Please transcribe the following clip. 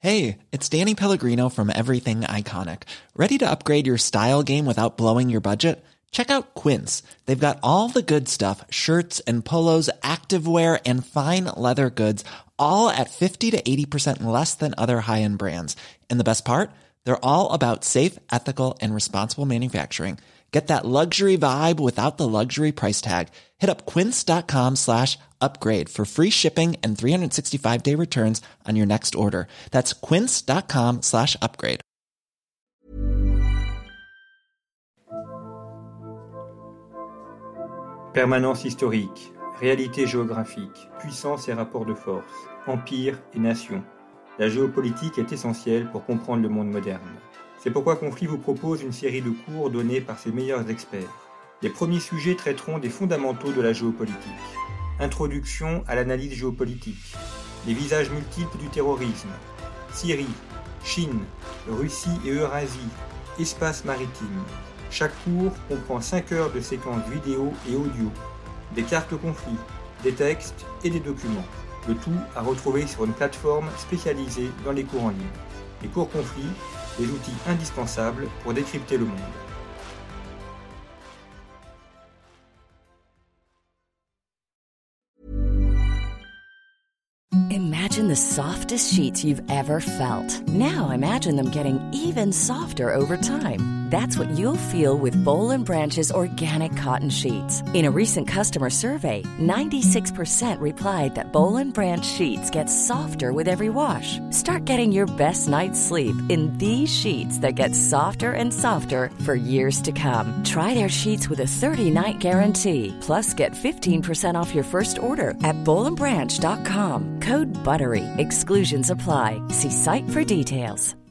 Hey, it's Danny Pellegrino from Everything Iconic. Ready to upgrade your style game without blowing your budget? Check out Quince. They've got all the good stuff, shirts and polos, activewear, and fine leather goods, all at 50 to 80% less than other high-end brands. And the best part? They're all about safe, ethical, and responsible manufacturing. Get that luxury vibe without the luxury price tag. Hit up quince.com/upgrade for free shipping and 365-day returns on your next order. That's quince.com/upgrade. Permanence historique, réalité géographique, puissance et rapports de force, empire et nation. La géopolitique est essentielle pour comprendre le monde moderne. C'est pourquoi Conflit vous propose une série de cours donnés par ses meilleurs experts. Les premiers sujets traiteront des fondamentaux de la géopolitique. Introduction à l'analyse géopolitique. Les visages multiples du terrorisme. Syrie, Chine, Russie et Eurasie. Espace maritime. Chaque cours comprend 5 heures de séquences vidéo et audio. Des cartes conflits, des textes et des documents. Le tout à retrouver sur une plateforme spécialisée dans les cours en ligne. Les cours conflits, des outils indispensables pour décrypter le monde. Imagine the softest sheets you've ever felt. Now imagine them getting even softer over time. That's what you'll feel with Boll & Branch's organic cotton sheets. In a recent customer survey, 96% replied that Boll & Branch sheets get softer with every wash. Start getting your best night's sleep in these sheets that get softer and softer for years to come. Try their sheets with a 30-night guarantee. Plus, get 15% off your first order at bollandbranch.com. Code BUTTERY. Exclusions apply. See site for details.